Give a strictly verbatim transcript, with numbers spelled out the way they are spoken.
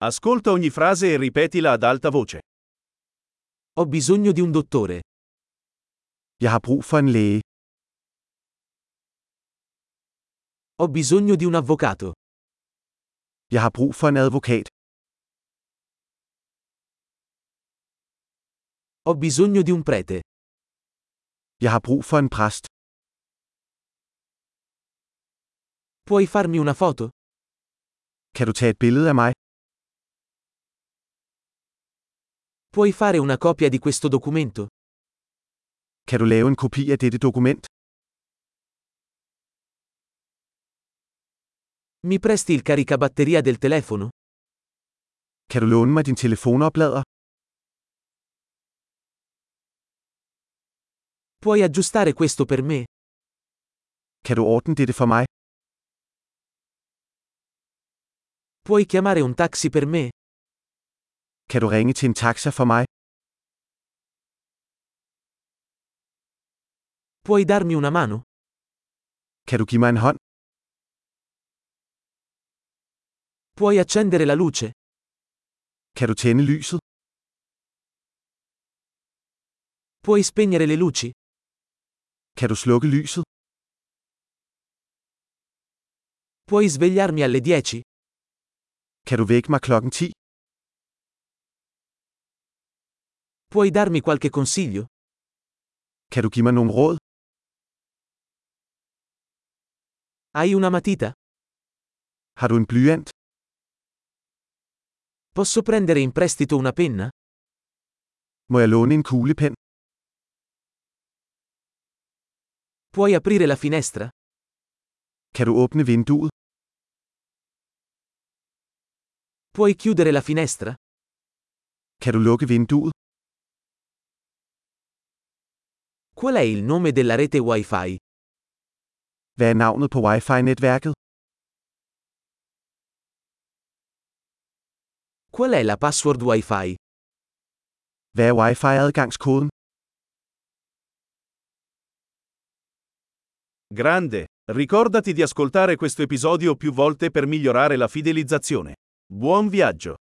Ascolta ogni frase e ripetila ad alta voce. Ho bisogno di un dottore. Jeg har brug for en læge. Ho bisogno di un avvocato. Jeg har brug for en advokat. Ho bisogno di un prete. Jeg har brug for en præst. Puoi farmi una foto? Kan du tage et billede af mig? Puoi fare una copia di questo documento? Kan du lave en kopi af dette dokument? Mi presti il caricabatteria del telefono? Kan du låne mig din telefonoplader? Puoi aggiustare questo per me? Kan du ordne dette for mig? Puoi chiamare un taxi per me? Kan du ringe til en taxa for mig? Puoi darmi una mano? Kan du give mig en hånd? Puoi accendere la luce? Kan du tænde lyset? Puoi spegnere le luci? Kan du slukke lyset? Puoi svegliarmi alle dieci? Kan du vække mig klokken ti? Puoi darmi qualche consiglio? Kan du give mig nogle råd? Hai una matita? Har du en blyant? Posso prendere in prestito una penna? Må jeg låne en kuglepen? Puoi aprire la finestra? Kan du åbne vinduet? Puoi chiudere la finestra? Kan du lukke vinduet? Qual è il nome della rete Wi-Fi? Hvad er navnet på Wi-Fi-netværket? Qual è la password Wi-Fi? Hvad er Wi-Fi-adgangskoden? Grande! Ricordati di ascoltare questo episodio più volte per migliorare la fidelizzazione. Buon viaggio!